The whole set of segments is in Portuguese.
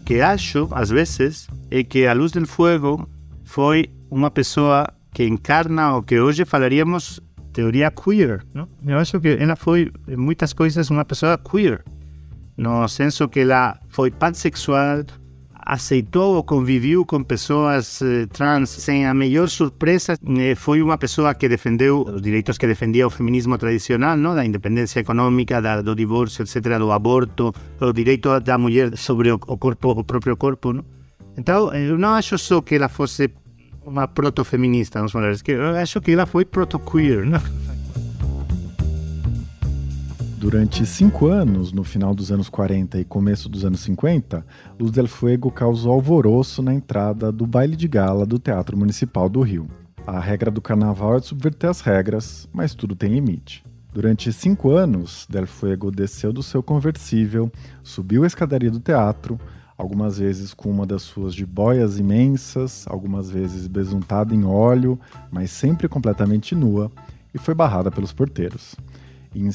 que acho, às vezes, é que a Luz del Fuego foi uma pessoa que encarna o que hoje falaríamos teoria queer, não? Eu acho que ela foi, em muitas coisas, uma pessoa queer, no senso que ela foi pansexual, aceitou ou conviveu com pessoas trans sem a melhor surpresa. Foi uma pessoa que defendeu os direitos que defendia o feminismo tradicional, não? Da independência econômica, do divórcio, etc., do aborto, o direito da mulher sobre o próprio corpo, não? Então, eu não acho só que ela fosse uma proto-feminista, vamos falar, eu acho que ela foi proto-queer, não? Durante 5 anos, no final dos anos 40 e começo dos anos 50, Luz del Fuego causou alvoroço na entrada do baile de gala do Teatro Municipal do Rio. A regra do carnaval é de subverter as regras, mas tudo tem limite. Durante 5 anos, Del Fuego desceu do seu conversível, subiu a escadaria do teatro, algumas vezes com uma das suas jiboias imensas, algumas vezes besuntada em óleo, mas sempre completamente nua, e foi barrada pelos porteiros. Em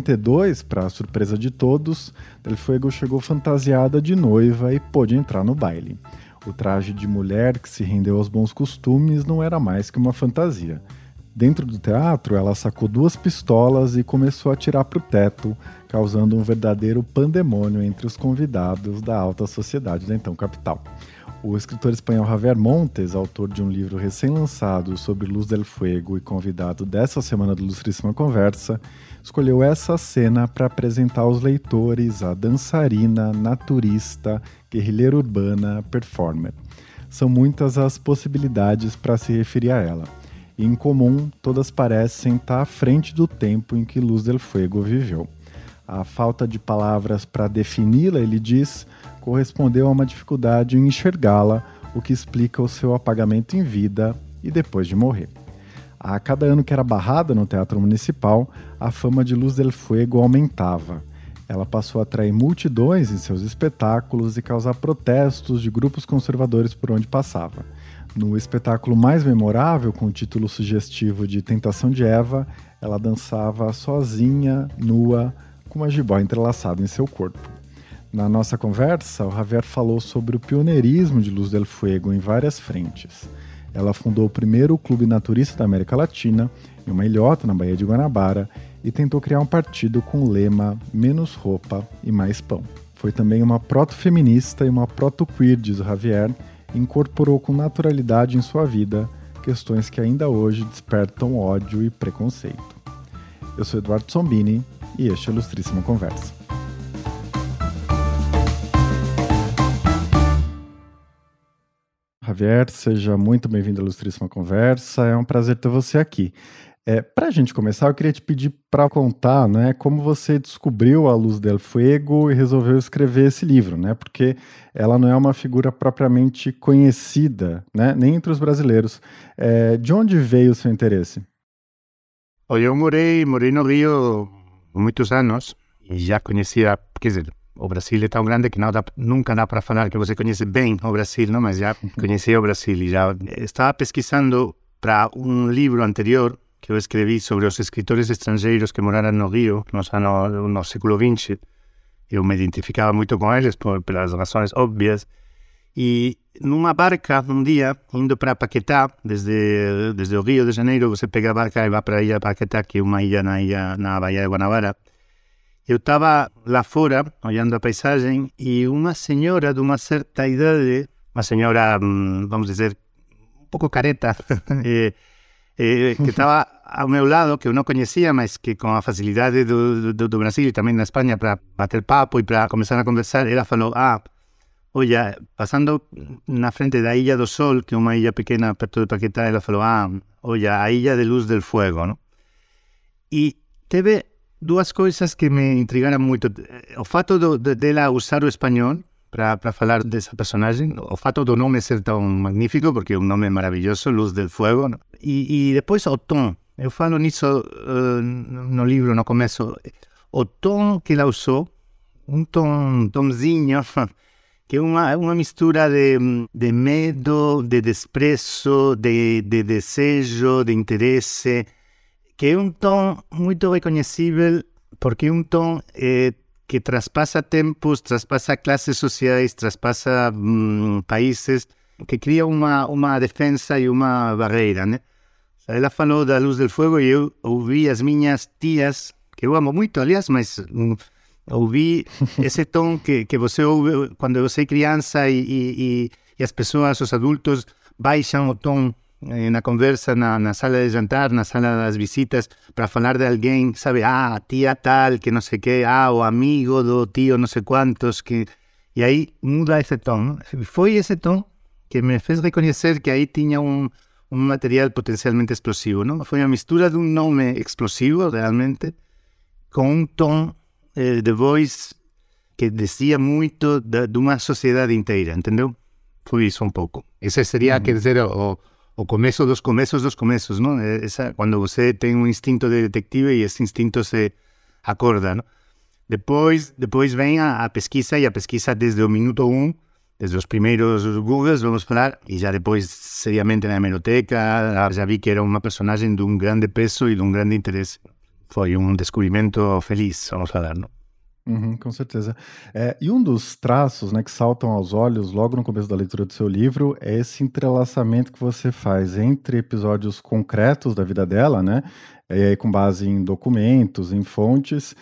52, para surpresa de todos, Del Fuego chegou fantasiada de noiva e pôde entrar no baile. O traje de mulher que se rendeu aos bons costumes não era mais que uma fantasia. Dentro do teatro, ela sacou 2 pistolas e começou a atirar para o teto, causando um verdadeiro pandemônio entre os convidados da alta sociedade da então capital. O escritor espanhol Javier Montes, autor de um livro recém-lançado sobre Luz del Fuego e convidado dessa semana do Ilustríssima Conversa, escolheu essa cena para apresentar aos leitores a dançarina, naturista, guerrilheira urbana, performer. São muitas as possibilidades para se referir a ela. E, em comum, todas parecem estar à frente do tempo em que Luz del Fuego viveu. A falta de palavras para defini-la, ele diz, correspondeu a uma dificuldade em enxergá-la, o que explica o seu apagamento em vida e depois de morrer. A cada ano que era barrada no Teatro Municipal, a fama de Luz del Fuego aumentava. Ela passou a atrair multidões em seus espetáculos e causar protestos de grupos conservadores por onde passava. No espetáculo mais memorável, com o título sugestivo de Tentação de Eva, ela dançava sozinha, nua, com uma jiboia entrelaçada em seu corpo. Na nossa conversa, o Javier falou sobre o pioneirismo de Luz del Fuego em várias frentes. Ela fundou o primeiro clube naturista da América Latina, em uma ilhota na Baía de Guanabara, e tentou criar um partido com o lema menos roupa e mais pão. Foi também uma proto-feminista e uma proto-queer, diz o Javier, e incorporou com naturalidade em sua vida questões que ainda hoje despertam ódio e preconceito. Eu sou Eduardo Sombini e este é o Ilustríssima Conversa. Javier, seja muito bem-vindo à Ilustríssima Conversa, é um prazer ter você aqui. Para a gente começar, eu queria te pedir para contar, né, como você descobriu a Luz del Fuego e resolveu escrever esse livro, né, porque ela não é uma figura propriamente conhecida, né, nem entre os brasileiros. De onde veio o seu interesse? Eu morei no Rio muitos anos e já conhecia, quer dizer, o Brasil é tão grande que nunca dá para falar que você conhece bem o Brasil, não? Mas já conhecia o Brasil e já estava pesquisando para um livro anterior que eu escrevi sobre os escritores estrangeiros que moraram no Rio no século XX. Eu me identificava muito com eles pelas razões óbvias. E numa barca, um dia, indo para Paquetá, desde o Rio de Janeiro, você pega a barca e vai para a ilha Paquetá, que é uma ilha na Baía de Guanabara. Eu estava lá fora, olhando a paisagem, e uma senhora de uma certa idade, uma senhora, vamos dizer, um pouco careta, que estava ao meu lado, que eu não conhecia, mas que com a facilidade do Brasil e também na Espanha para bater papo e para começar a conversar, ela falou, olha, passando na frente da Ilha do Sol, que é uma ilha pequena perto de Paquetá, ela falou, olha, a Ilha de Luz del Fuego, não? E teve 2 coisas que me intrigaram muito. O fato dela usar o espanhol para falar dessa personagem, o fato do nome ser tão magnífico, porque é um nome maravilhoso, Luz del Fuego, não? E depois o tom. Eu falo nisso no livro, no começo. O tom que ela usou, um tomzinho, que é uma mistura de medo, de desprezo, de desejo, de interesse, que é um tom muito reconhecível, porque é um tom que traspassa tempos, traspassa classes sociais, traspassa países, que cria uma defesa e uma barreira, né? Ela falou da Luz do Fogo e eu ouvi as minhas tias, que eu amo muito, aliás, mas ouvi esse tom que você ouve quando você é criança e as pessoas, os adultos, baixam o tom na conversa, na sala de jantar, na sala das visitas, para falar de alguém, sabe? Tia tal, que não sei o quê, o amigo do tio não sei quantos, que... E aí muda esse tom, não? Foi esse tom que me fez reconhecer que aí tinha um material potencialmente explosivo, não? Foi uma mistura de um nome explosivo, realmente, com um tom de voz que dizia muito de uma sociedade inteira, entendeu? Foi isso um pouco. Esse seria, quer dizer, o começo dos começos, não? Quando você tem um instinto de detetive e esse instinto se acorda, não? Depois vem a pesquisa, e a pesquisa desde o minuto 1, desde os primeiros Googles, vamos falar, e já depois, seriamente, na hemeroteca, já vi que era uma personagem de um grande peso e de um grande interesse. Foi um descobrimento feliz, vamos falar, não? Com certeza. E um dos traços, né, que saltam aos olhos logo no começo da leitura do seu livro é esse entrelaçamento que você faz entre episódios concretos da vida dela, né, com base em documentos, em fontes,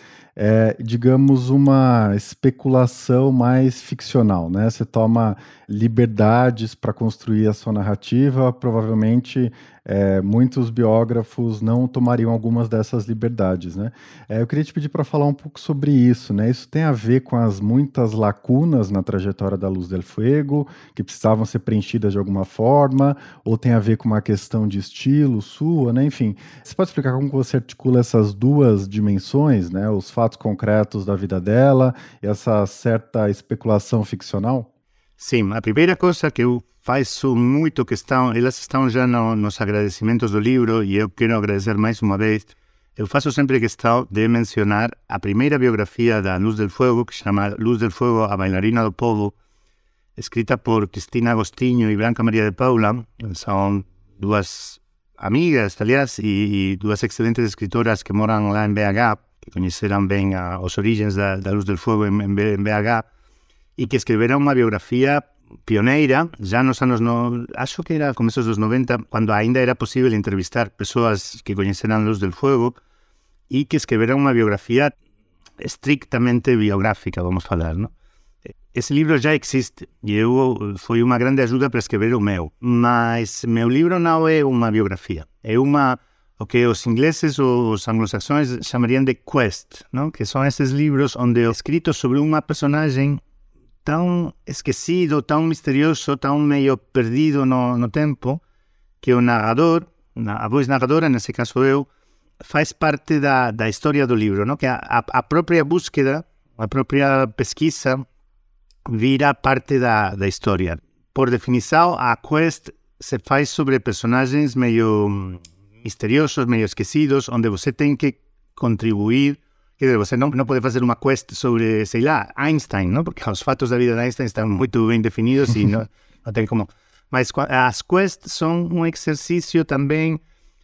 digamos, uma especulação mais ficcional, né? Você toma liberdades para construir a sua narrativa, provavelmente muitos biógrafos não tomariam algumas dessas liberdades, né? Eu queria te pedir para falar um pouco sobre isso, né? Isso tem a ver com as muitas lacunas na trajetória da Luz del Fuego, que precisavam ser preenchidas de alguma forma, ou tem a ver com uma questão de estilo sua, né? Enfim, você pode explicar como você articula essas duas dimensões, né? Os fatos concretos da vida dela e essa certa especulação ficcional? Sim, a primeira coisa que eu faço muito questão, elas estão já nos agradecimentos do livro e eu quero agradecer mais uma vez. Eu faço sempre questão de mencionar a primeira biografia da Luz del Fuego, que se chama Luz del Fuego, a bailarina do povo, escrita por Cristina Agostinho e Blanca Maria de Paula. São duas amigas, aliás, e duas excelentes escritoras que moram lá em BH, que conheceram bem as origens da Luz del Fuego em BH, e que escreveram uma biografia pioneira, já nos anos, acho que era começos dos 90, quando ainda era possível entrevistar pessoas que conheceram Luz del Fuego, e que escreveram uma biografia estrictamente biográfica, vamos falar, não? Esse livro já existe, e foi uma grande ajuda para escrever o meu, mas meu livro não é uma biografia, é o que os ingleses ou os anglo-saxões chamariam de quest, não? Que são esses livros onde é escrito sobre uma personagem tão esquecido, tão misterioso, tão meio perdido no tempo, que o narrador, a voz narradora, nesse caso eu, faz parte da história do livro, não? Que a própria búsqueda, a própria pesquisa vira parte da história. Por definição, a quest se faz sobre personagens meio misteriosos, meio esquecidos, onde você tem que contribuir. Quer dizer, você não pode fazer uma quest sobre, sei lá, Einstein, não? Porque os fatos da vida de Einstein estão muito bem definidos e não tem como... Mas as quests são um exercício também,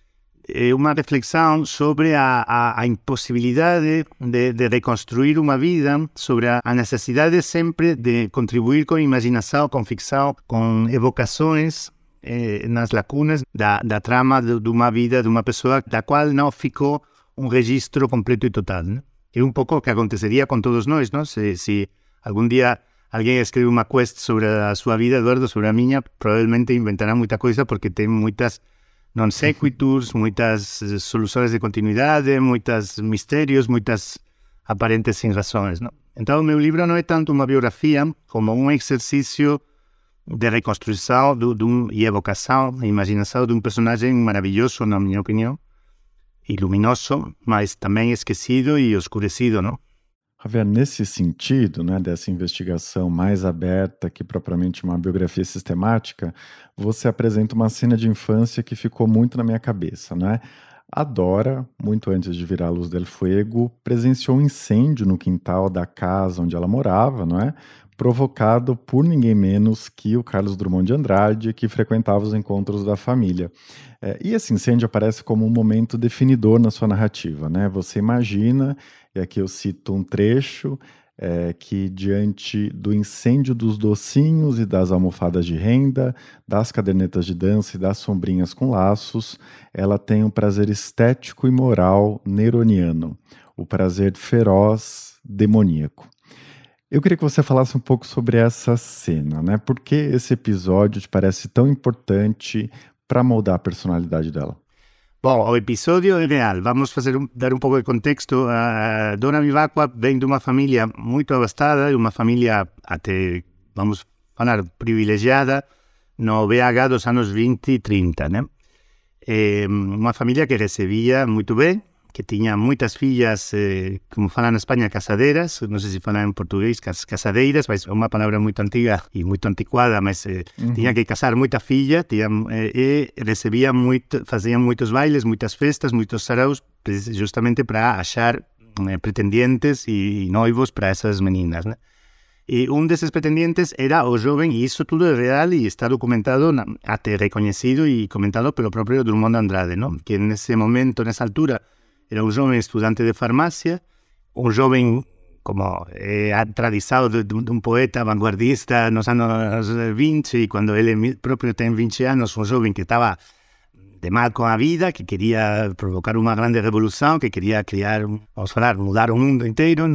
uma reflexão sobre a impossibilidade de reconstruir uma vida, sobre a necessidade sempre de contribuir com imaginação, com ficção, com evocações nas lacunas da trama de uma vida de uma pessoa da qual não ficou um registro completo e total, né? É um pouco o que aconteceria com todos nós, não? Se algum dia alguém escreve uma quest sobre a sua vida, Eduardo, sobre a minha, provavelmente inventará muita coisa porque tem muitas non sequiturs, muitas soluções de continuidade, muitos mistérios, muitas aparentes sem razões, não? Então, o meu livro não é tanto uma biografia como um exercício de reconstrução e evocação, imaginação de um personagem maravilhoso, na minha opinião, e luminoso, mas também esquecido e oscurecido, não? Javier, nesse sentido, né, dessa investigação mais aberta que propriamente uma biografia sistemática, você apresenta uma cena de infância que ficou muito na minha cabeça, né? A Dora, muito antes de virar Luz del Fuego, presenciou um incêndio no quintal da casa onde ela morava, não é? Provocado por ninguém menos que o Carlos Drummond de Andrade, que frequentava os encontros da família. E esse incêndio aparece como um momento definidor na sua narrativa, né? Você imagina, e aqui eu cito um trecho, que diante do incêndio dos docinhos e das almofadas de renda, das cadernetas de dança e das sombrinhas com laços, ela tem um prazer estético e moral neroniano, o prazer feroz, demoníaco. Eu queria que você falasse um pouco sobre essa cena, né? Por que esse episódio te parece tão importante para moldar a personalidade dela? Bom, o episódio é real. Vamos dar um pouco de contexto. A Dora Vivacqua vem de uma família muito abastada, uma família até, vamos falar, privilegiada, no BH dos anos 20 e 30, né? Uma família que recebia muito bem, que tinha muitas filhas, como falam na Espanha, casadeiras, não sei se falam em português, casadeiras, mas é uma palavra muito antiga e muito antiquada, mas tinha que casar muita filha, e recebia faziam muitos bailes, muitas festas, muitos saraus, justamente para achar pretendientes e noivos para essas meninas, né? E um desses pretendientes era o jovem, e isso tudo é real e está documentado, até reconhecido e comentado pelo próprio Drummond de Andrade, ¿no? Que nesse momento, nessa altura, era un jovem estudante de farmacia, un jovem, como tradizado de un poeta vanguardista nos anos 20, e quando ele próprio tem 20 anos, un jovem que estava de mal com a vida, que queria provocar uma grande revolução, que queria criar, vamos falar, mudar o mundo inteiro,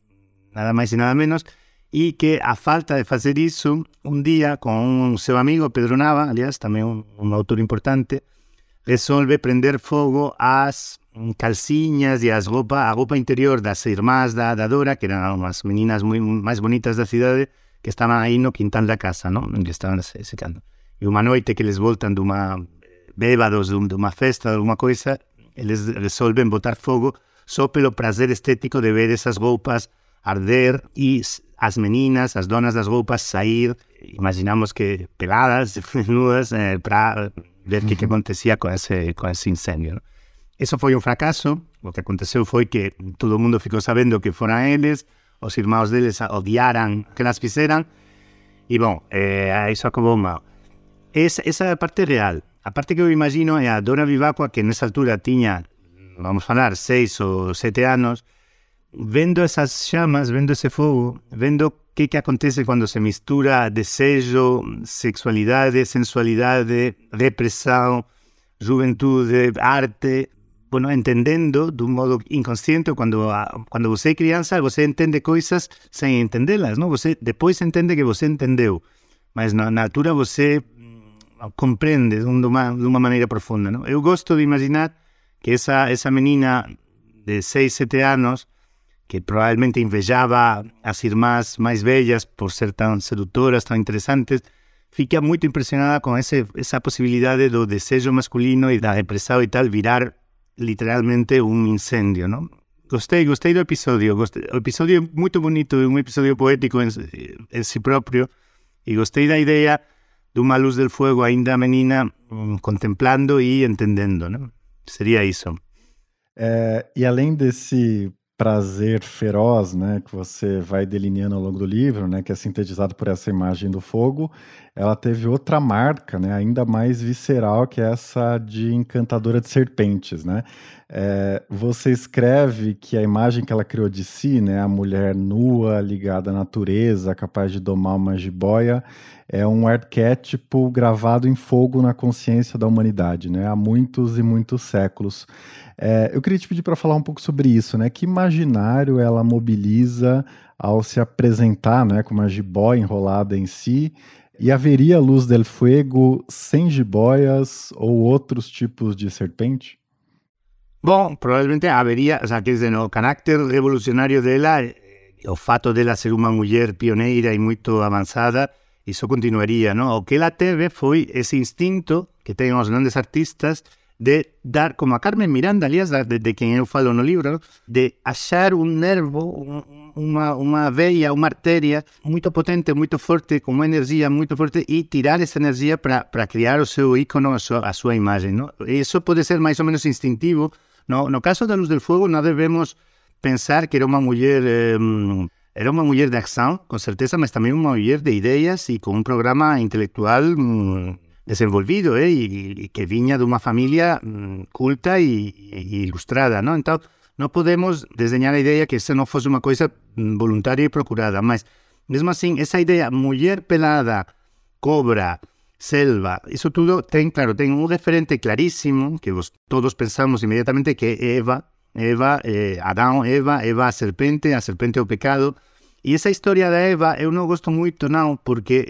nada mais e nada menos, e que a falta de fazer isso, um dia, com seu amigo Pedro Nava, aliás, também um autor importante, resolve prender fogo às calcinhas e a roupa interior das irmãs da Dora, que eram umas meninas mais bonitas da cidade, que estavam aí no quintal da casa, não? Onde estavam secando. E uma noite que eles voltam bêbados de uma festa, de alguma coisa, eles resolvem botar fogo só pelo prazer estético de ver essas roupas arder e as meninas, as donas das roupas sair, imaginamos que peladas, nudas, para ver o que acontecia com esse incêndio, não? Isso foi um fracasso. O que aconteceu foi que todo mundo ficou sabendo que foram eles, os irmãos deles odiaram que elas fizeram, e bom, isso acabou mal. Essa é a parte real. A parte que eu imagino é a Dora Vivacqua, que nessa altura tinha, vamos falar, 6 ou 7 anos, vendo essas chamas, vendo esse fogo, vendo o que acontece quando se mistura desejo, sexualidade, sensualidade, repressão, juventude, arte, bueno, entendendo de um modo inconsciente. Quando você é criança, você entende coisas sem entendê-las, não? Você depois entende que você entendeu, mas na altura você compreende de uma maneira profunda, não? Eu gosto de imaginar que essa menina de 6, 7 anos, que provavelmente invejava as irmãs mais velhas por ser tão sedutoras, tão interessantes, fica muito impressionada com essa possibilidade do desejo masculino e da repressão e tal virar literalmente um incêndio, não? Gostei do episódio. O episódio é muito bonito, é um episódio poético em si próprio, e gostei da ideia de uma luz del fuego ainda menina, contemplando e entendendo, não? Seria isso. E além desse prazer feroz, né, que você vai delineando ao longo do livro, né, que é sintetizado por essa imagem do fogo, ela teve outra marca, né, ainda mais visceral, que é essa de encantadora de serpentes, né? Você escreve que a imagem que ela criou de si, né, a mulher nua, ligada à natureza, capaz de domar uma jiboia, é um arquétipo gravado em fogo na consciência da humanidade, né, há muitos e muitos séculos. Eu queria te pedir para falar um pouco sobre isso, né? Que imaginário ela mobiliza ao se apresentar, né, com uma jiboia enrolada em si? E haveria Luz del Fuego sem jiboias ou outros tipos de serpente? Bom, provavelmente haveria, quer dizer, o carácter revolucionário dela, o fato dela ser uma mulher pioneira e muito avançada, isso continuaria, não? O que ela teve foi esse instinto que têm os grandes artistas de dar, como a Carmen Miranda, aliás, de quem eu falo no livro, de achar um nervo, uma veia, uma artéria muito potente, muito forte, com uma energia muito forte, e tirar essa energia para criar o seu ícone, a sua imagem, não? Isso pode ser mais ou menos instintivo. No caso da Luz del Fuego, não devemos pensar que era uma mulher de ação, com certeza, mas também uma mulher de ideias e com um programa intelectual desenvolvido, e que vinha de uma família culta e ilustrada, não? Então, não podemos desenhar a ideia que isso não fosse uma coisa voluntária e procurada, mas, mesmo assim, essa ideia, mulher pelada, cobra, selva, isso tudo tem um referente claríssimo, que todos pensamos imediatamente, que é Eva, Adão, Eva, a serpente é o pecado. E essa história da Eva eu não gosto muito, não, porque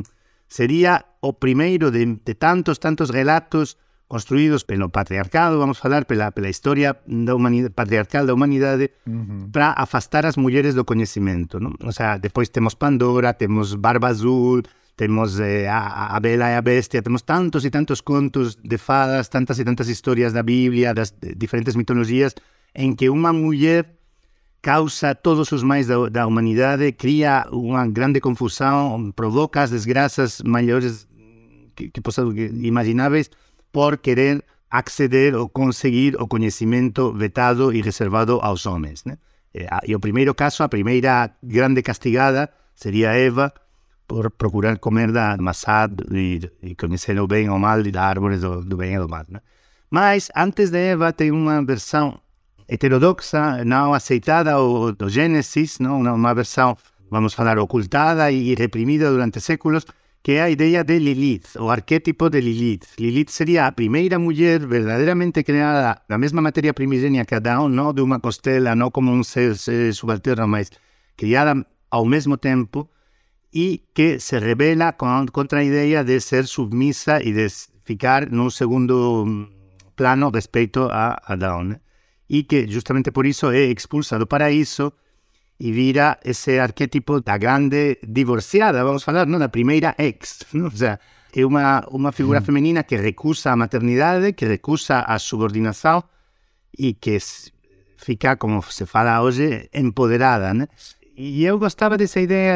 seria o primeiro de tantos relatos construídos pelo patriarcado, vamos falar, pela história patriarcal da humanidade, para afastar as mulheres do conhecimento, não? Ou seja, depois temos Pandora, temos Barba Azul, temos a Bela e a Bestia, temos tantos e tantos contos de fadas, tantas e tantas histórias da Bíblia, das diferentes mitologias, em que uma mulher causa todos os males da humanidade, cria uma grande confusão, provoca as desgraças maiores que possam imagináveis, por querer acceder ou conseguir o conhecimento vetado e reservado aos homens, né? E o primeiro caso, a primeira grande castigada, seria Eva, por procurar comer da maçã e conhecer o bem ou o mal da árvore do bem e do mal, né? Mas, antes de Eva, tem uma versão heterodoxa, não aceitada, do Gênesis, não? Uma versão, vamos falar, ocultada e reprimida durante séculos, que é a ideia de Lilith, o arquétipo de Lilith. Lilith seria a primeira mulher verdadeiramente criada da mesma matéria primigênia que Adão, não de uma costela, não como um ser subalterno, mas criada ao mesmo tempo, e que se rebela contra a ideia de ser submissa e de ficar num segundo plano respeito a Adão, né? E que justamente por isso é expulsa do paraíso e vira esse arquétipo da grande divorciada, vamos falar, não? Da primeira ex, não? Ou seja, é uma figura feminina que recusa a maternidade, que recusa a subordinação e que fica, como se fala hoje, empoderada, né? E eu gostava dessa ideia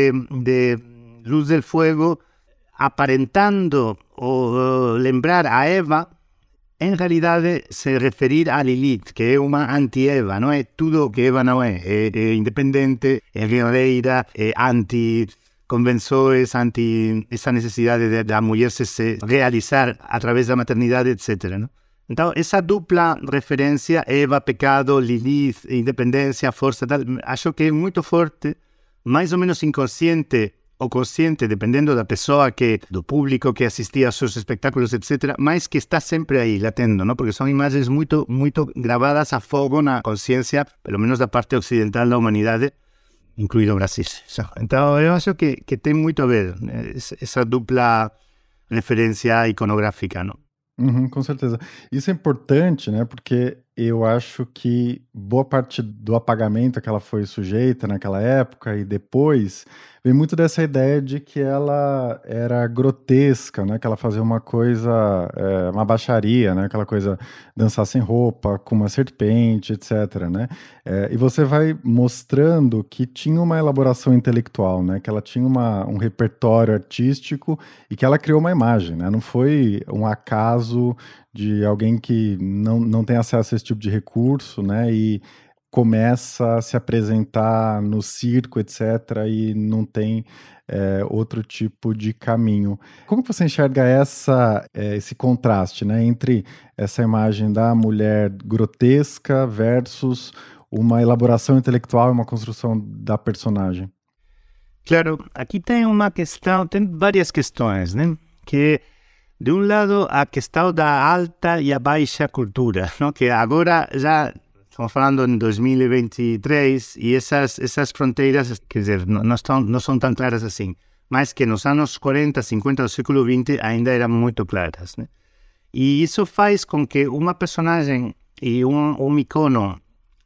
de Luz del Fuego aparentando ou lembrar a Eva, em realidade se referir a Lilith, que é uma anti-Eva, não é tudo o que Eva não é. É independente, é guerreira, é anti-convenções, anti essa necessidade da mulher se realizar através da maternidade, etc., não? Então, essa dupla referência, Eva, pecado, Lilith, independência, força, tal, acho que é muito forte, mais ou menos inconsciente ou consciente, dependendo da pessoa, do público que assistia aos seus espetáculos, etc., mas que está sempre aí, latendo, não? Porque são imagens muito gravadas a fogo na consciência, pelo menos da parte ocidental da humanidade, incluído o Brasil. Então, eu acho que tem muito a ver, né? Essa dupla referência iconográfica, não? Com certeza. Isso é importante, né? Porque eu acho que boa parte do apagamento que ela foi sujeita naquela época e depois vem muito dessa ideia de que ela era grotesca, né? Que ela fazia uma coisa, uma baixaria, né? Aquela coisa, dançar sem roupa, com uma serpente, etc., né? E você vai mostrando que tinha uma elaboração intelectual, né? Que ela tinha um repertório artístico e que ela criou uma imagem, né? Não foi um acaso de alguém que não tem acesso a esse tipo de recurso, né? E começa a se apresentar no circo, etc., e não tem outro tipo de caminho. Como que você enxerga esse contraste, né, entre essa imagem da mulher grotesca versus uma elaboração intelectual e uma construção da personagem? Claro, aqui tem uma questão, tem várias questões, né? Que, de um lado, a questão da alta e a baixa cultura, não? Que agora já estamos falando em 2023 e essas fronteiras, quer dizer, não são tão claras assim, mas que nos anos 40, 50 do século XX ainda eram muito claras, né? E isso faz com que uma personagem e um icono,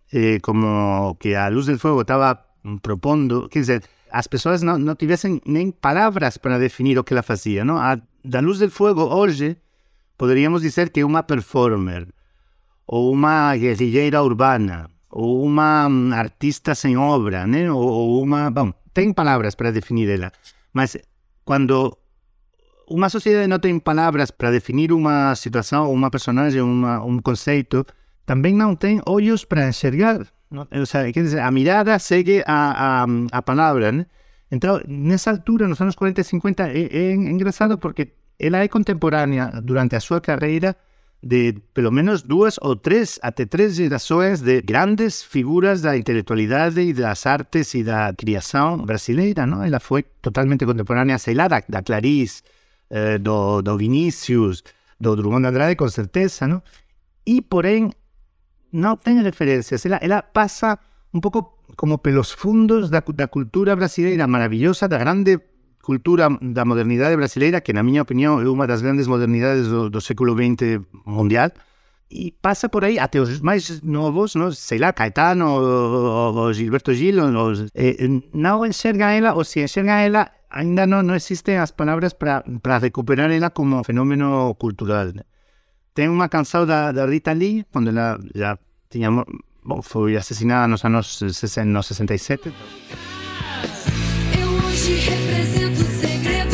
como que a Luz del Fuego estava propondo, quer dizer, as pessoas não tivessem nem palavras para definir o que ela fazia, não? Da Luz del Fuego hoje poderíamos dizer que é uma performer, ou uma guerrilheira urbana, ou uma artista sem obra, né? Ou uma... Bom, tem palavras para definir ela, mas quando uma sociedade não tem palavras para definir uma situação, uma personagem, um conceito, também não tem olhos para enxergar. Não? Ou seja, quer dizer, a mirada segue a palavra, né? Então, nessa altura, nos anos 40 e 50, é engraçado porque ela é contemporânea durante a sua carreira de pelo menos 2 ou 3, até 3 gerações de grandes figuras da intelectualidade e das artes e da criação brasileira, não? Ela foi totalmente contemporânea, sei lá, da Clarice, do Vinícius, do Drummond de Andrade, com certeza, não? E, porém, não tem referências. Ela passa um pouco como pelos fundos da cultura brasileira maravilhosa, da grande cultura da modernidade brasileira, que na minha opinião é uma das grandes modernidades do século XX mundial, e passa por aí até os mais novos, não? Sei lá, Caetano ou Gilberto Gil, não enxerga ela, ou se enxerga ela, ainda não existem as palavras para recuperar ela como fenômeno cultural, né? Tem uma canção da Rita Lee, quando ela já tinha... Bom, foi assassinada nos anos 67. Eu hoje represento o segredo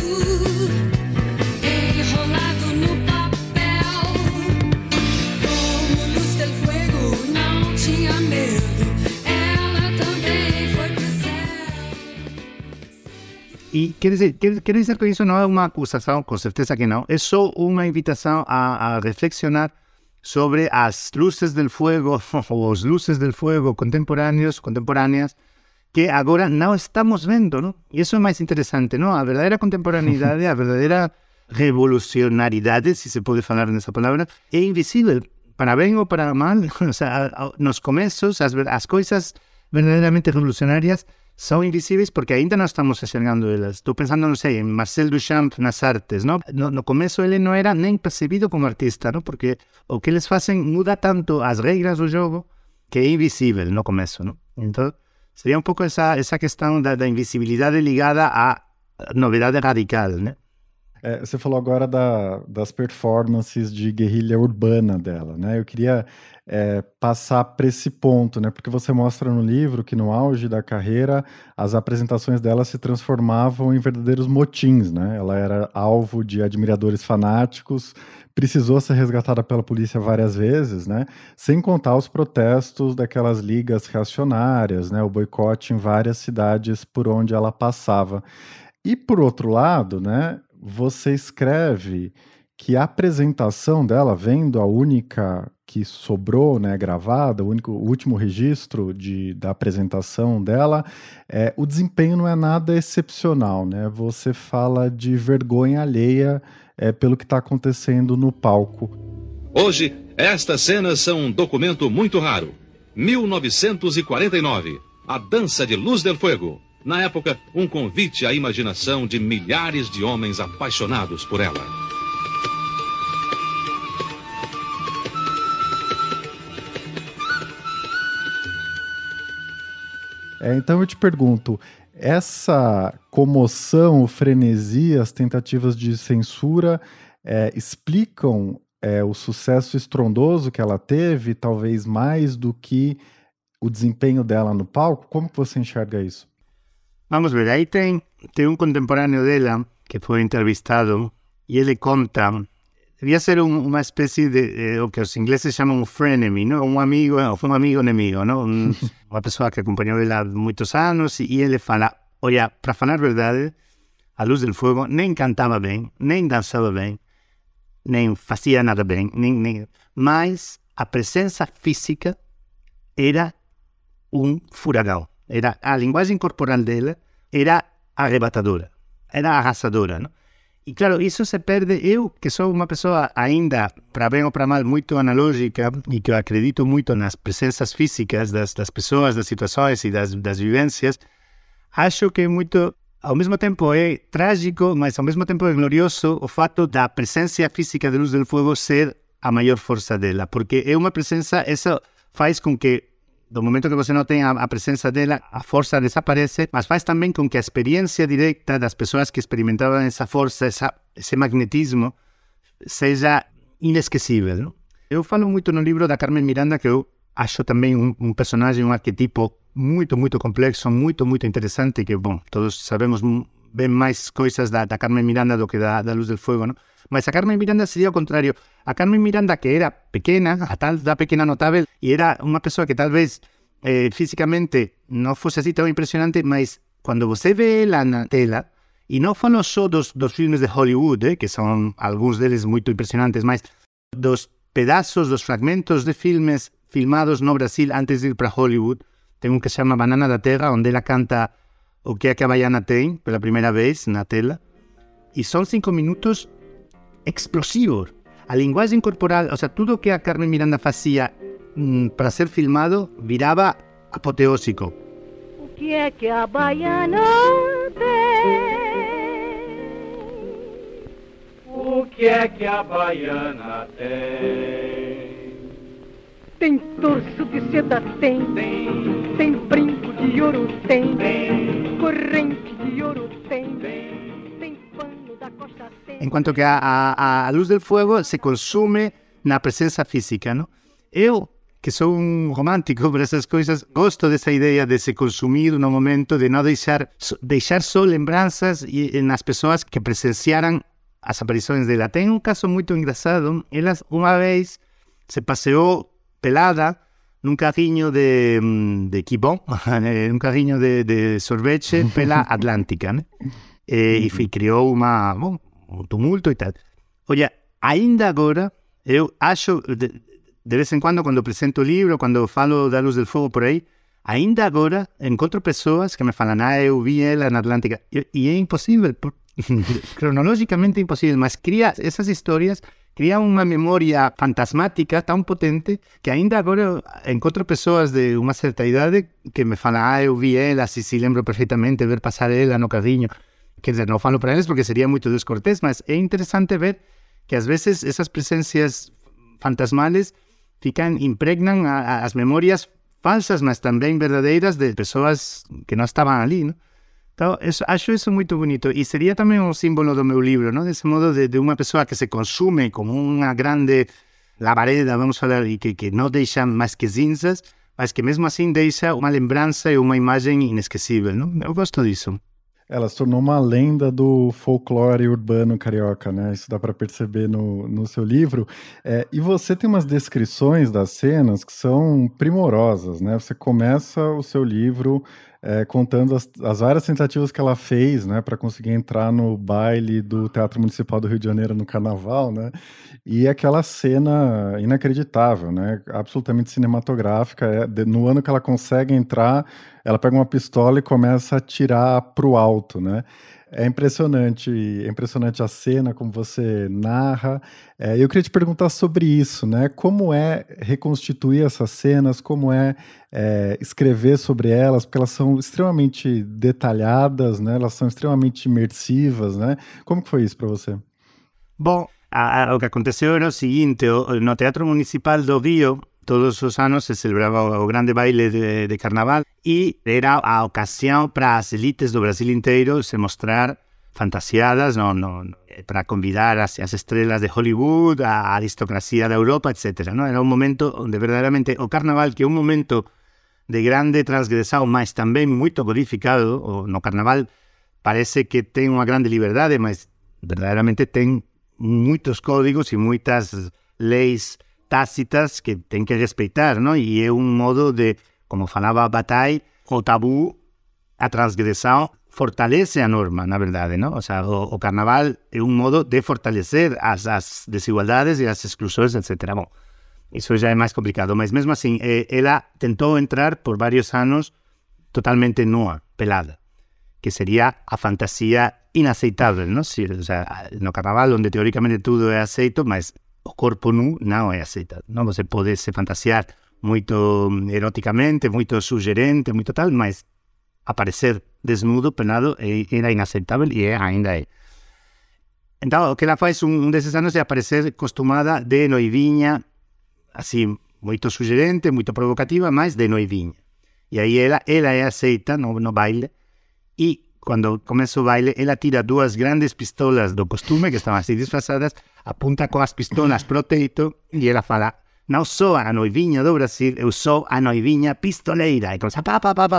enrolado no papel. Como Luz del Fuego não tinha medo, ela também foi pro céu. E quer dizer que isso não é uma acusação, com certeza que não, é só uma invitação a reflexionar sobre as luzes del fuego, ou os luzes del fuego contemporâneas, que agora não estamos vendo, não? E isso é mais interessante, não? A verdadeira contemporaneidade, a verdadeira revolucionariedade, se se pode falar nessa palavra, é invisível, para bem ou para mal. O sea, nos começos, as coisas verdadeiramente revolucionárias são invisíveis porque ainda não estamos enxergando elas. Estou pensando, não sei, em Marcel Duchamp nas artes, não? No começo ele não era nem percebido como artista, não? Porque o que eles fazem muda tanto as regras do jogo que é invisível no começo, não? Então, seria um pouco essa questão da invisibilidade ligada à novidade radical, né? Você falou agora das performances de guerrilha urbana dela, né? Eu queria passar para esse ponto, né? Porque você mostra no livro que no auge da carreira as apresentações dela se transformavam em verdadeiros motins, né? Ela era alvo de admiradores fanáticos, precisou ser resgatada pela polícia várias vezes, né? Sem contar os protestos daquelas ligas reacionárias, né? O boicote em várias cidades por onde ela passava. E por outro lado, né? Você escreve que a apresentação dela, vendo a única que sobrou, né, gravada, o último registro da apresentação dela, o desempenho não é nada excepcional, né? Você fala de vergonha alheia pelo que está acontecendo no palco. Hoje, estas cenas são um documento muito raro. 1949, a dança de Luz del Fuego. Na época, um convite à imaginação de milhares de homens apaixonados por ela. Então eu te pergunto, essa comoção, o frenesi, as tentativas de censura explicam o sucesso estrondoso que ela teve, talvez mais do que o desempenho dela no palco? Como que você enxerga isso? Vamos ver, aí tem um contemporâneo dela que foi entrevistado e ele conta, devia ser uma espécie de o que os ingleses chamam um frenemy, não? Um amigo inimigo, não? Uma pessoa que acompanhou ela há muitos anos e ele fala, olha, para falar a verdade, a Luz del Fuego nem cantava bem, nem dançava bem, nem fazia nada bem, mas a presença física era um furacão. A linguagem corporal dela era arrebatadora, era arrasadora, não? E claro, isso se perde. Eu, que sou uma pessoa ainda, para bem ou para mal, muito analógica e que eu acredito muito nas presenças físicas das pessoas, das situações e das vivências, acho que muito, ao mesmo tempo é trágico, mas ao mesmo tempo é glorioso o fato da presença física de Luz del Fuego ser a maior força dela, porque é uma presença, isso faz com que do momento que você não tem a presença dela, a força desaparece, mas faz também com que a experiência direta das pessoas que experimentavam essa força, esse magnetismo, seja inesquecível, não? Eu falo muito no livro da Carmen Miranda que eu acho também um personagem, um arquetipo muito, muito complexo, muito, muito interessante, que, bom, todos sabemos bem mais coisas da Carmen Miranda do que da Luz del Fuego, não? Mas a Carmen Miranda seria o contrário. A Carmen Miranda, que era pequena, a tal da pequena notável, e era uma pessoa que talvez fisicamente não fosse assim tão impressionante, mas quando você vê ela na tela, e não falo só dos filmes de Hollywood, que são alguns deles muito impressionantes, mas dos pedaços, dos fragmentos de filmes filmados no Brasil antes de ir para Hollywood. Tem um que se chama Banana da Terra, onde ela canta O que a Baiana tem, pela primeira vez na tela. E são 5 minutos explosivos. A linguagem corporal, ou seja, tudo o que a Carmen Miranda fazia para ser filmado virava apoteósico. O que é que a baiana tem? O que é que a baiana tem? Tem torso de seda, tem. Tem brinco de ouro, tem. Corrente de ouro, tem. Tem pano da costa, tem. Enquanto que a Luz del Fuego se consume na presença física, não? Eu, que sou um romântico para essas coisas, gosto dessa ideia de se consumir no momento, de não deixar só lembranças nas pessoas que presenciaram as aparições dela. Tem um caso muito engraçado. Ela uma vez se passeou pelada num carrinho de Kibon, num carrinho de sorvete pela Atlântica, né? E criou um tumulto e tal. Olha, ainda agora, eu acho, de vez em quando apresento o livro, quando falo da Luz del Fuego por aí, ainda agora encontro pessoas que me falam, eu vi ela na Atlântica, e é impossível, cronologicamente impossível, mas essas histórias cria uma memória fantasmática tão potente que ainda agora encontro pessoas de uma certa idade que me falam, eu vi ela, se lembro perfeitamente ver passar ela no carrinho. Quer dizer, não falo para eles porque seria muito descortés, mas é interessante ver que às vezes essas presenças fantasmales impregnam as memórias falsas, mas também verdadeiras de pessoas que não estavam ali, não? Então, acho isso muito bonito. E seria também um símbolo do meu livro, não? Desse modo de uma pessoa que se consume como uma grande labareda, vamos falar, e que não deixa mais que cinzas, mas que mesmo assim deixa uma lembrança e uma imagem inesquecível, não? Eu gosto disso. Ela se tornou uma lenda do folclore urbano carioca, né? Isso dá para perceber no seu livro. E você tem umas descrições das cenas que são primorosas, né? Você começa o seu livro contando as várias tentativas que ela fez, né, para conseguir entrar no baile do Teatro Municipal do Rio de Janeiro no Carnaval, né? E aquela cena inacreditável, né? Absolutamente cinematográfica. No ano que ela consegue entrar, ela pega uma pistola e começa a atirar pro alto, né? É impressionante a cena, como você narra. Eu queria te perguntar sobre isso, né? Como é reconstituir essas cenas, como é escrever sobre elas, porque elas são extremamente detalhadas, né? Elas são extremamente imersivas, né? Como que foi isso para você? Bom, o que aconteceu era o seguinte, no Teatro Municipal do Rio, todos os anos se celebrava o grande baile de carnaval e era a ocasião para as elites do Brasil inteiro se mostrar fantasiadas para convidar as estrelas de Hollywood, a aristocracia da Europa, etc. ¿no? Era um momento onde verdadeiramente o carnaval, que é um momento de grande transgressão, mas também muito codificado, no carnaval parece que tem uma grande liberdade, mas verdadeiramente tem muitos códigos e muitas leis tácitas que tem que respeitar, não? E é um modo de, como falava Bataille, o tabu, a transgressão fortalece a norma, na verdade, não? Ou seja, o carnaval é um modo de fortalecer as desigualdades e as exclusões, etc. Bom, isso já é mais complicado, mas mesmo assim, ela tentou entrar por vários anos totalmente nua, pelada, que seria a fantasia inaceitável, não? Ou seja, no carnaval, onde teoricamente tudo é aceito, mas o corpo nu não é aceitado, não? Você pode se fantasiar muito eroticamente, muito sugerente, muito tal, mas aparecer desnudo, pelado, era inaceitável e ainda é. Então, o que ela faz desses anos é aparecer costumada de noivinha, assim, muito sugerente, muito provocativa, mas de noivinha. E aí ela é aceita no baile, e quando começa o baile, ela tira 2 grandes pistolas do costume, que estavam assim disfrazadas, apunta com as pistolas pro teito, e ela fala, não sou a noivinha do Brasil, eu sou a noivinha pistoleira. E começa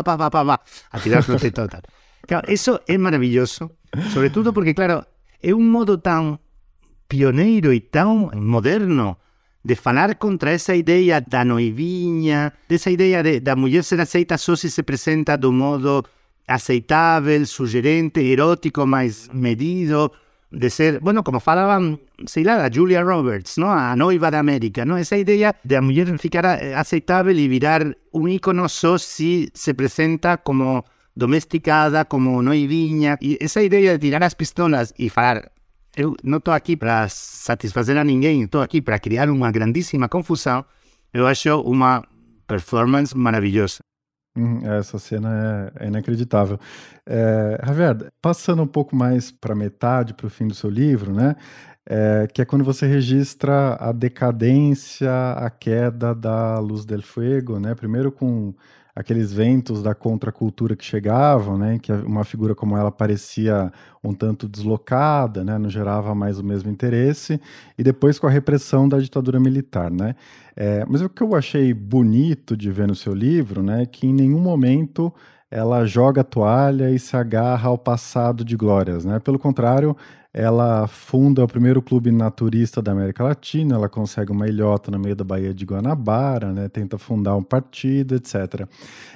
a tirar pro teto e tal. Claro, isso é maravilhoso, sobretudo porque, claro, é um modo tão pioneiro e tão moderno de falar contra essa ideia da noivinha, dessa ideia da mulher ser aceita só se se apresenta do modo aceitável, sugerente, erótico, mais medido, de ser, bueno, como falavam, sei lá, a Julia Roberts, ¿no? A noiva da América, ¿no? Essa ideia de a mulher ficar aceitável e virar um ícono só se se apresenta como domesticada, como noivinha, e essa ideia de tirar as pistolas e falar, eu não estou aqui para satisfazer a ninguém, estou aqui para criar uma grandíssima confusão, eu acho uma performance maravilhosa. Essa cena é inacreditável. Javier, passando um pouco mais para metade, para o fim do seu livro, né? Que é quando você registra a decadência, a queda da Luz del Fuego, né? Primeiro com aqueles ventos da contracultura que chegavam, né? Que uma figura como ela parecia um tanto deslocada, né? Não gerava mais o mesmo interesse. E depois com a repressão da ditadura militar, né? Mas o que eu achei bonito de ver no seu livro, né? Que em nenhum momento ela joga a toalha e se agarra ao passado de glórias, né? Pelo contrário, ela funda o primeiro clube naturista da América Latina, ela consegue uma ilhota no meio da Baía de Guanabara, né? Tenta fundar um partido, etc.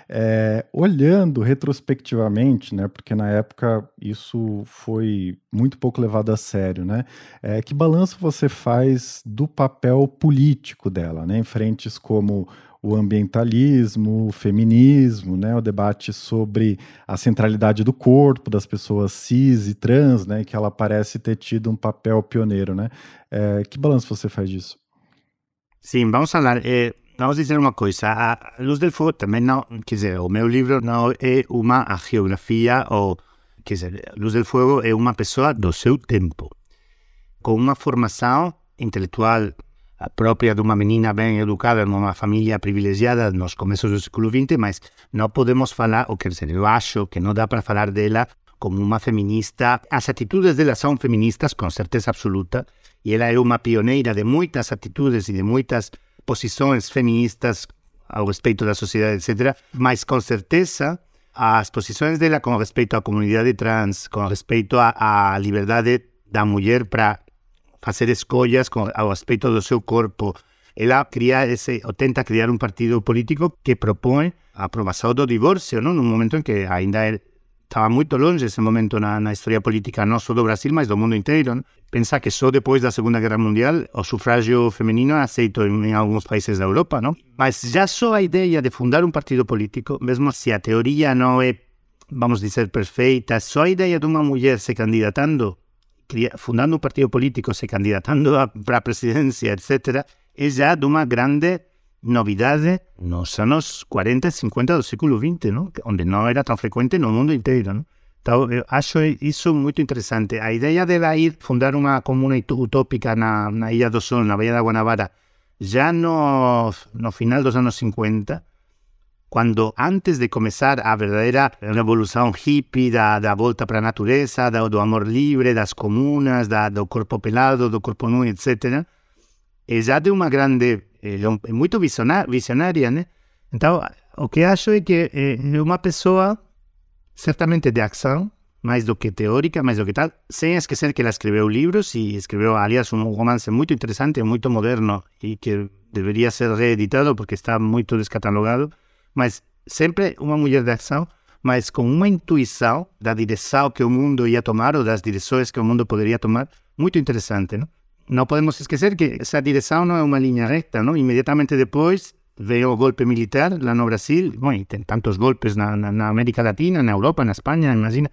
Olhando retrospectivamente, né? Porque na época isso foi muito pouco levado a sério, né? Que balanço você faz do papel político dela, né? Em frentes como o ambientalismo, o feminismo, né, o debate sobre a centralidade do corpo das pessoas cis e trans, né, que ela parece ter tido um papel pioneiro, né? Que balanço você faz disso? Sim, vamos falar. Vamos dizer uma coisa. A Luz del Fuego também não, quer dizer, o meu livro não é uma geografia, ou, quer dizer, Luz del Fuego é uma pessoa do seu tempo, com uma formação intelectual própria de uma menina bem educada numa família privilegiada nos começos do século XX, mas não podemos falar, ou quer dizer, eu acho que não dá para falar dela como uma feminista. As atitudes dela são feministas, com certeza absoluta, e ela é uma pioneira de muitas atitudes e de muitas posições feministas ao respeito da sociedade, etc. Mas, com certeza, as posições dela com respeito à comunidade trans, com respeito à liberdade da mulher para fazer escolhas ao respeito do seu corpo. Ela tenta criar um partido político que propõe a aprovação do divórcio, não? Num momento em que ainda estava muito longe esse momento na história política, não só do Brasil, mas do mundo inteiro, não? Pensa que só depois da Segunda Guerra Mundial o sufrágio feminino é aceito em alguns países da Europa, não? Mas já só a ideia de fundar um partido político, mesmo se a teoria não é, vamos dizer, perfeita, só a ideia de uma mulher se candidatando, fundando um partido político, se candidatando para a presidência, etc., é já de uma grande novidade nos anos 40 e 50 do século XX, não? Onde não era tão frequente no mundo inteiro, não? Então, eu acho isso muito interessante. A ideia dela ir fundar uma comuna utópica na Ilha do Sol, na Baía da Guanabara, já no final dos anos 50, quando antes de começar a verdadeira revolução hippie da volta para a natureza, do amor livre, das comunas, do corpo pelado, do corpo nu, etc., é já de uma grande, é muito visionária, né? Então, o que acho é que é uma pessoa certamente de ação, mais do que teórica, mais do que tal, sem esquecer que ela escreveu livros e escreveu, aliás, um romance muito interessante, muito moderno e que deveria ser reeditado porque está muito descatalogado, mas sempre uma mulher de ação, mas com uma intuição da direção que o mundo ia tomar ou das direções que o mundo poderia tomar, muito interessante, não? Não podemos esquecer que essa direção não é uma linha reta, não? Imediatamente depois veio o golpe militar lá no Brasil, bom, e tem tantos golpes na América Latina, na Europa, na Espanha, imagina,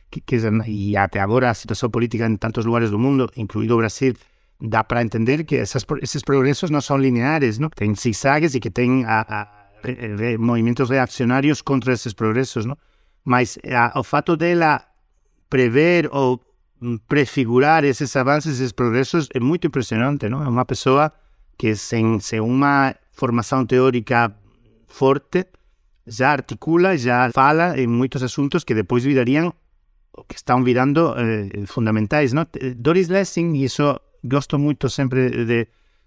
e até agora a situação política em tantos lugares do mundo, incluído o Brasil, dá para entender que esses progressos não são lineares, não? Tem zigzagues e que tem movimentos reaccionários contra esses progressos, não? Mas o fato dela prever ou prefigurar esses avanços, esses progressos, é muito impressionante, não? É uma pessoa que sem uma formação teórica forte já articula, já fala em muitos assuntos que depois virariam, que estão virando fundamentais, não? Doris Lessing, e isso gosto muito sempre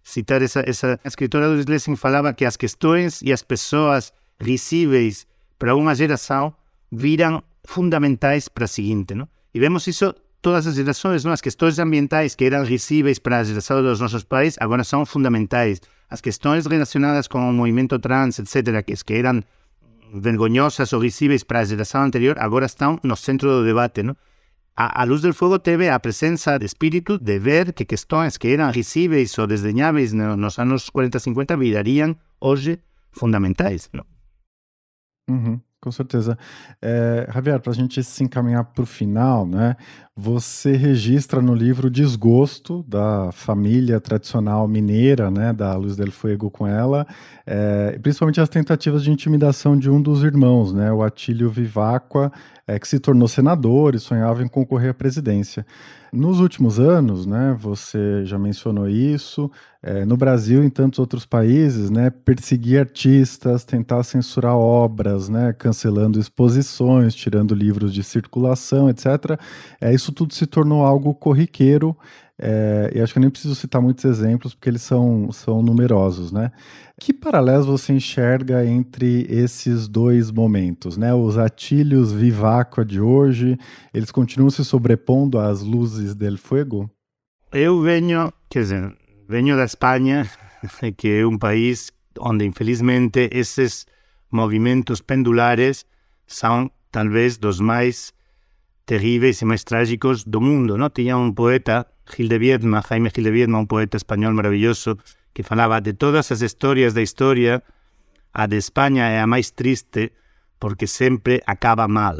citar essa escritora do Schlesinger falava que as questões e as pessoas risíveis para uma geração viram fundamentais para a seguinte, não? E vemos isso todas as gerações, não? As questões ambientais que eram risíveis para a geração dos nossos pais agora são fundamentais. As questões relacionadas com o movimento trans, etc., que eram vergonhosas ou risíveis para a geração anterior, agora estão no centro do debate, não? A Luz del Fuego teve a presença de espírito de ver que questões que eram risíveis ou desdenháveis nos anos 40, 50 virariam hoje fundamentais, não? Uhum, com certeza. Javier, para a gente se encaminhar para o final, né? Você registra no livro o desgosto da família tradicional mineira, né, da Luz del Fuego com ela, principalmente as tentativas de intimidação de um dos irmãos, né, o Atílio Viváqua, que se tornou senador e sonhava em concorrer à presidência. Nos últimos anos, né, você já mencionou isso, no Brasil e em tantos outros países, né, perseguir artistas, tentar censurar obras, né, cancelando exposições, tirando livros de circulação, etc. Isso tudo se tornou algo corriqueiro, e acho que eu nem preciso citar muitos exemplos, porque eles são numerosos, né? Que paralelos você enxerga entre esses dois momentos, né? Os Atílios Viváqua de hoje, eles continuam se sobrepondo às Luzes del Fuego? Eu venho da Espanha, que é um país onde, infelizmente, esses movimentos pendulares são, talvez, dos mais terríveis e mais trágicos do mundo, não? Tinha um poeta, Jaime Gil de Viedma, um poeta espanhol maravilhoso, que falava de todas as histórias da história, a de Espanha é a mais triste, porque sempre acaba mal.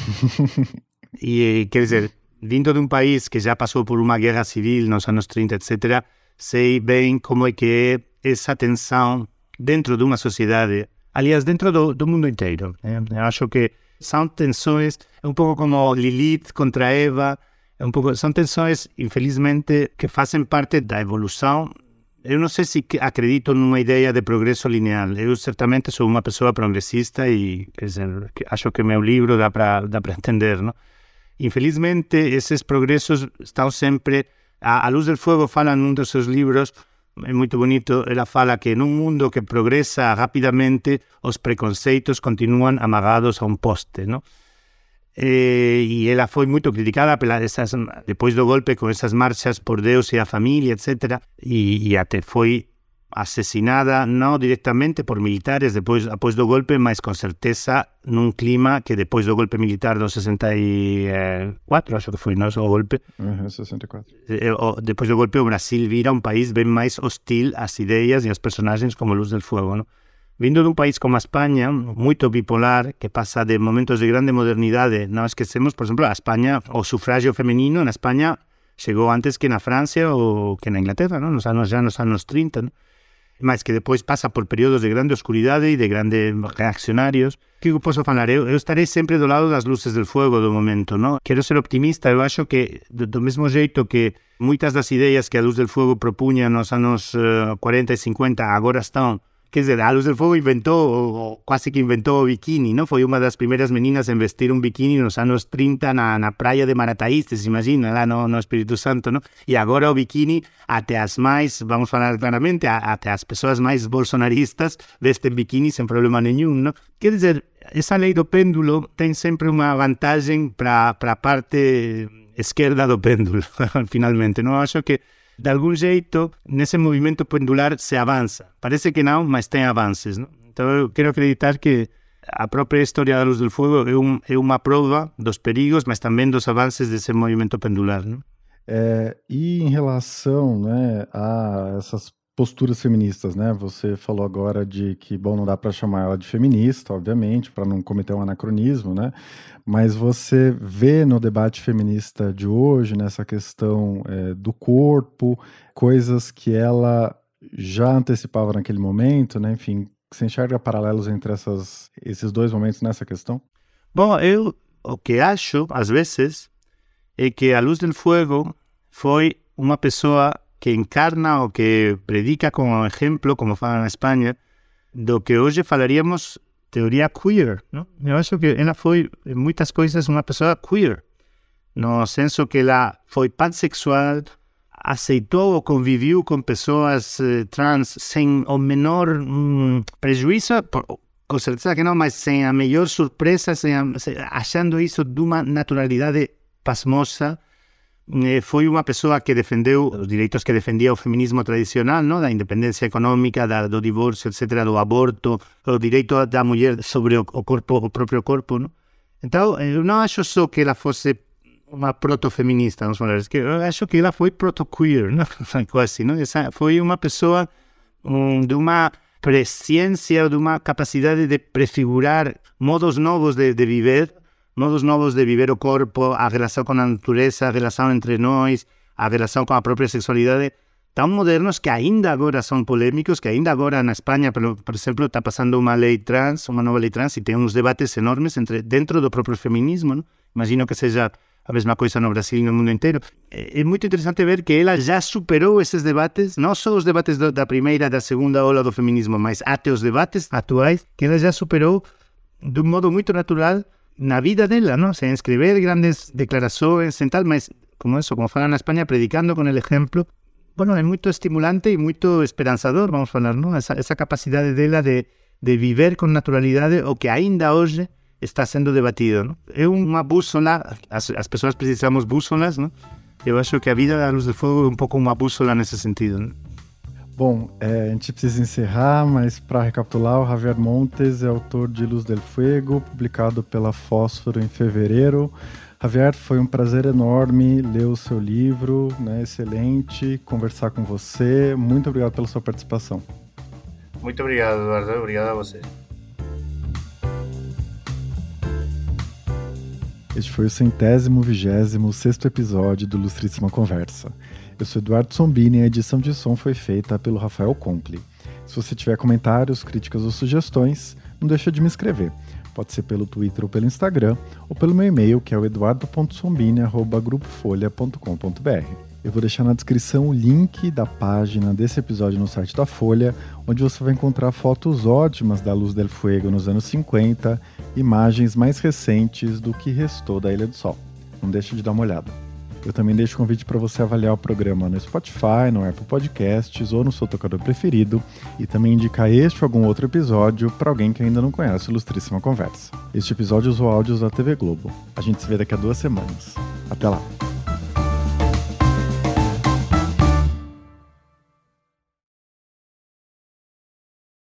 E, quer dizer, vindo de um país que já passou por uma guerra civil nos anos 30, etc., sei bem como é que é essa tensão dentro de uma sociedade, aliás, dentro do mundo inteiro. Eu acho que são tensões, um pouco como Lilith contra Eva, são tensões, infelizmente, que fazem parte da evolução. Eu não sei se acredito numa ideia de progresso linear. Eu certamente sou uma pessoa progressista e, quer dizer, acho que meu livro dá para entender, não? Infelizmente, esses progressos estão sempre... A Luz del Fuego fala num dos seus livros, é muito bonito, ela fala que num mundo que progressa rapidamente, os preconceitos continuam amagados a um poste, não? E ela foi muito criticada depois do golpe, com essas marchas por Deus e a família, etc. E até foi assassinada, não diretamente por militares depois do golpe, mas com certeza num clima que depois do golpe militar do 64, acho que foi, não, o golpe. 64. Depois do golpe o Brasil vira um país bem mais hostil às ideias e aos personagens como Luz del Fuego, não? Vindo de um país como a Espanha, muito bipolar, que passa de momentos de grande modernidade, não esquecemos, por exemplo, a Espanha, o sufragio feminino na Espanha chegou antes que na França ou que na Inglaterra, não? Nos anos 30, não? Mas que depois passa por períodos de grande oscuridade e de grandes reaccionários. O que eu posso falar? Eu estarei sempre do lado das Luzes del Fuego do momento, não? Quero ser optimista, eu acho que do mesmo jeito que muitas das ideias que a Luz del Fuego propunha nos anos 40 e 50 agora estão. Quer dizer, a Luz del Fuego inventou, ou quase que inventou o biquíni, não? Foi uma das primeiras meninas a vestir um biquíni nos anos 30 na praia de Marataí, se imagina, lá no Espírito Santo, não? E agora o biquíni, até as mais, vamos falar claramente, até as pessoas mais bolsonaristas vestem biquíni sem problema nenhum, não? Quer dizer, essa lei do pêndulo tem sempre uma vantagem para a parte esquerda do pêndulo, finalmente, não? Acho que de algum jeito, nesse movimento pendular se avança. Parece que não, mas tem avanços, não? Então eu quero acreditar que a própria história da Luz del Fuego é uma prova dos perigos, mas também dos avanços desse movimento pendular, não? E em relação, né, a essas posturas feministas, né? Você falou agora de que, bom, não dá para chamar ela de feminista, obviamente, para não cometer um anacronismo, né? Mas você vê no debate feminista de hoje, nessa questão do corpo, coisas que ela já antecipava naquele momento, né? Enfim, você enxerga paralelos entre esses dois momentos nessa questão? Bom, eu o que acho, às vezes, é que a Luz del Fuego foi uma pessoa que encarna ou que predica como exemplo, como fala na Espanha, do que hoje falaríamos teoria queer, não? Eu acho que ela foi, em muitas coisas, uma pessoa queer, no senso que ela foi pansexual, aceitou ou conviveu com pessoas trans sem o menor prejuízo, com certeza que não, mas sem a melhor surpresa, achando isso de uma naturalidade pasmosa. Foi uma pessoa que defendeu os direitos que defendia o feminismo tradicional, não? Da independência econômica, do divórcio, etc., do aborto, o direito da mulher sobre o próprio corpo, não? Então, eu não acho só que ela fosse uma proto-feminista, vamos falar, eu acho que ela foi proto-queer, não? Quase, não? Essa foi uma pessoa de uma presciência, de uma capacidade de prefigurar modos novos de viver, modos novos de viver o corpo, a relação com a natureza, a relação entre nós, a relação com a própria sexualidade, tão modernos que ainda agora são polêmicos, que ainda agora na Espanha, por exemplo, está passando uma lei trans, uma nova lei trans, e tem uns debates enormes dentro do próprio feminismo, não? Imagino que seja a mesma coisa no Brasil e no mundo inteiro. É muito interessante ver que ela já superou esses debates, não só os debates da primeira e da segunda ola do feminismo, mas até os debates atuais, que ela já superou de um modo muito natural na vida dela, não? Sem escrever grandes declarações, sem tal, mas como falam na Espanha, predicando com o exemplo. Bueno, é muito estimulante e muito esperançador, vamos falar, não? Essa capacidade dela de viver com naturalidade o que ainda hoje está sendo debatido, não? É uma bússola, as pessoas precisamos bússolas, não? Eu acho que a vida da Luz do Fogo é um pouco uma bússola nesse sentido, não? Bom, a gente precisa encerrar, mas para recapitular, o Javier Montes é autor de Luz del Fuego, publicado pela Fósforo em fevereiro. Javier, foi um prazer enorme ler o seu livro, né? Excelente conversar com você. Muito obrigado pela sua participação. Muito obrigado, Eduardo. Obrigado a você. Este foi o 126º episódio do Ilustríssima Conversa. Eu sou Eduardo Sombini e a edição de som foi feita pelo Rafael Compli. Se você tiver comentários, críticas ou sugestões, não deixa de me escrever. Pode ser pelo Twitter ou pelo Instagram, ou pelo meu e-mail, que é o eduardo.sombini@grupofolha.com.br. Eu vou deixar na descrição o link da página desse episódio no site da Folha, onde você vai encontrar fotos ótimas da Luz del Fuego nos anos 50, imagens mais recentes do que restou da Ilha do Sol. Não deixa de dar uma olhada. Eu também deixo o convite para você avaliar o programa no Spotify, no Apple Podcasts ou no seu tocador preferido e também indicar este ou algum outro episódio para alguém que ainda não conhece o Ilustríssima Conversa. Este episódio usou áudios da TV Globo. A gente se vê daqui a 2 semanas. Até lá!